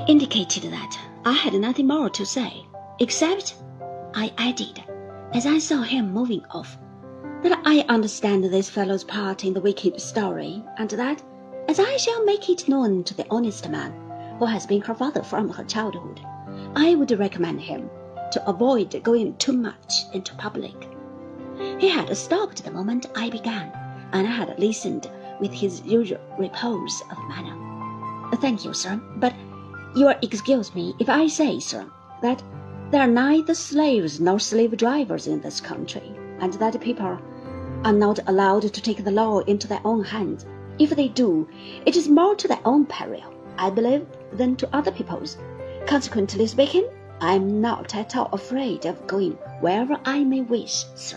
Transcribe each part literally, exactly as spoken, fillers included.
I indicated that I had nothing more to say, except, I added, as I saw him moving off, that I understand this fellow's part in the wicked story, and that, as I shall make it known to the honest man who has been her father from her childhood, I would recommend him to avoid going too much into public. He had stopped the moment I began, and I had listened with his usual repose of manner. Thank you, sir, but you will excuse me if I say, sir, that there are neither slaves nor slave drivers in this country, and that people are not allowed to take the law into their own hands. If they do, it is more to their own peril, I believe, than to other people's. Consequently speaking, I am not at all afraid of going wherever I may wish, sir.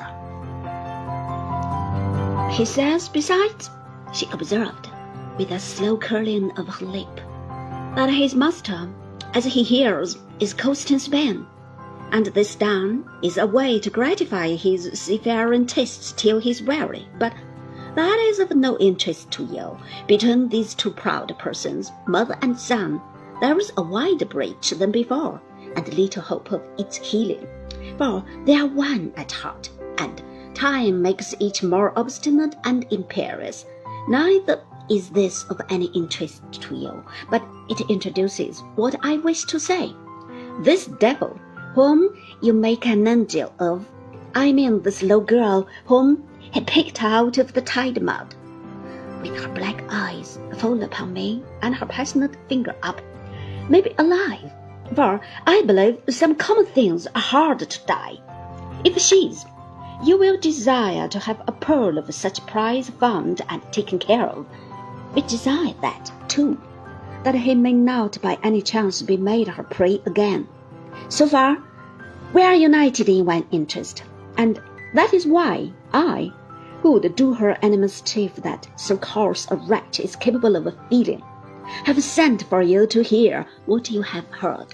He says, besides, she observed, with a slow curling of her lip, that his master, as he hears, is coasting Spain, and this done is a way to gratify his seafaring tastes till he's weary. But that is of no interest to you. Between these two proud persons, mother and son, there is a wider breach than before, and little hope of its healing, for they are one at heart, and time makes each more obstinate and imperious. Neither is this of any interest to you, but it introduces what I wish to say. This devil, whom you make an angel of, I mean this little girl whom he picked out of the tide mud, with her black eyes full upon me and her passionate finger up, may be alive, for I believe some common things are hard to die. If she's, you will desire to have a pearl of such price found and taken care of. We desire that, too, that he may not by any chance be made her prey again. So far, we are united in one interest, and that is why I, who would do her any mischief that so coarse a wretch is capable of feeling, have sent for you to hear what you have heard.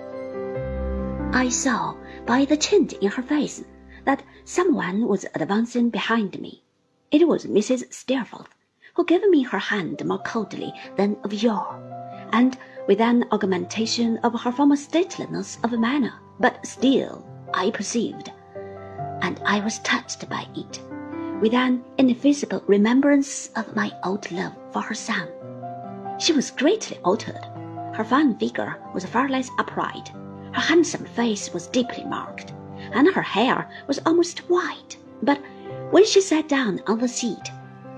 I saw by the change in her face that someone was advancing behind me. It was Missus Steerforth, who gave me her hand more coldly than of yore, and with an augmentation of her former stateliness of manner, but still, I perceived, and I was touched by it, with an ineffaceable remembrance of my old love for her son. She was greatly altered. Her fine figure was far less upright, her handsome face was deeply marked, and her hair was almost white. But when she sat down on the seat,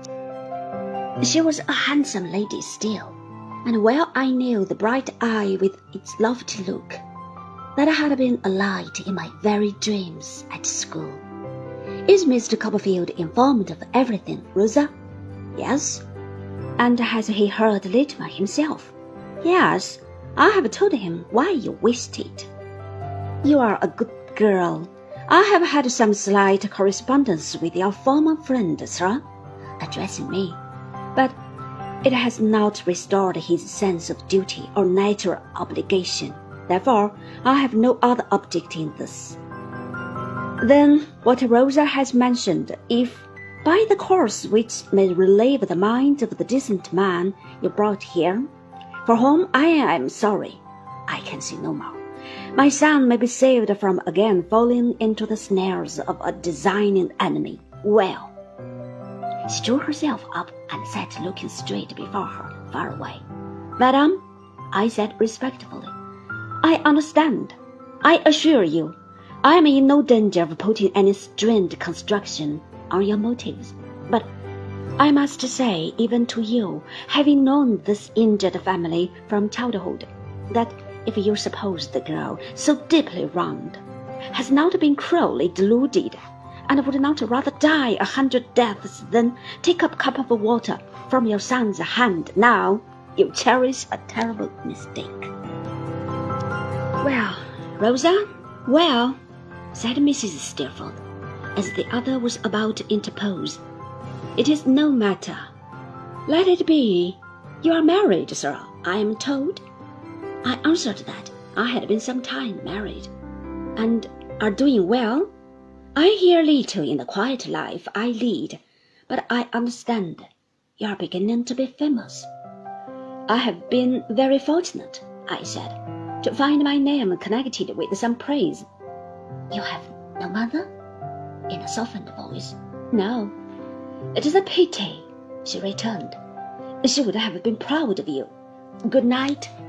she was a handsome lady still, and well I knew the bright eye with its lofty look, that had been a light in my very dreams at school. Is Mister Copperfield informed of everything, Rosa? Yes. And has he heard Littimer himself? Yes, I have told him why you wished it. You are a good girl. I have had some slight correspondence with your former friend, sir, addressing me, but it has not restored his sense of duty or natural obligation. Therefore, I have no other object in this. Then, what Rosa has mentioned, if, by the course which may relieve the mind of the decent man you brought here, for whom I am sorry, I can see no more, my son may be saved from again falling into the snares of a designing enemy, well. She drew herself up and sat looking straight before her, far away. Madam, I said respectfully, I understand. I assure you, I am in no danger of putting any strained construction on your motives. But I must say, even to you, having known this injured family from childhood, that if you suppose the girl, so deeply wronged, has not been cruelly deluded, and would not rather die a hundred deaths than take up a cup of water from your son's hand now, you cherish a terrible mistake. Well, Rosa, well, said Missus Steerforth, as the other was about to interpose, it is no matter. Let it be. You are married, sir, I am told. I answered that I had been some time married, and are doing well. I hear little in the quiet life I lead, but I understand you are beginning to be famous. I have been very fortunate, I said, to find my name connected with some praise. You have no mother? In a softened voice. No. It is a pity, she returned. She would have been proud of you. Good night.